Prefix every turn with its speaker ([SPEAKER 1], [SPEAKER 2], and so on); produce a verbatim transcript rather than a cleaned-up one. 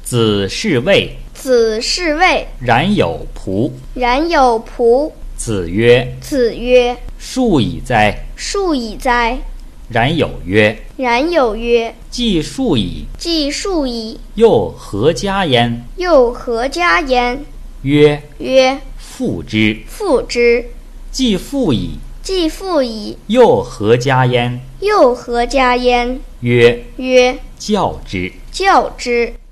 [SPEAKER 1] 子是谓，
[SPEAKER 2] 子是谓，
[SPEAKER 1] 冉有仆。
[SPEAKER 2] 冉有仆。
[SPEAKER 1] 子曰：
[SPEAKER 2] 子曰：
[SPEAKER 1] 数以哉！
[SPEAKER 2] 数以哉！
[SPEAKER 1] 冉有曰：
[SPEAKER 2] 冉有曰：
[SPEAKER 1] 既数以，
[SPEAKER 2] 既数以，
[SPEAKER 1] 又何加焉？
[SPEAKER 2] 又何加焉？
[SPEAKER 1] 曰：
[SPEAKER 2] 曰：
[SPEAKER 1] 父之。
[SPEAKER 2] 父之。
[SPEAKER 1] 既父矣，
[SPEAKER 2] 既父矣，
[SPEAKER 1] 又何加焉？
[SPEAKER 2] 又何加焉？
[SPEAKER 1] 曰：
[SPEAKER 2] 曰：
[SPEAKER 1] 教之。
[SPEAKER 2] 教之。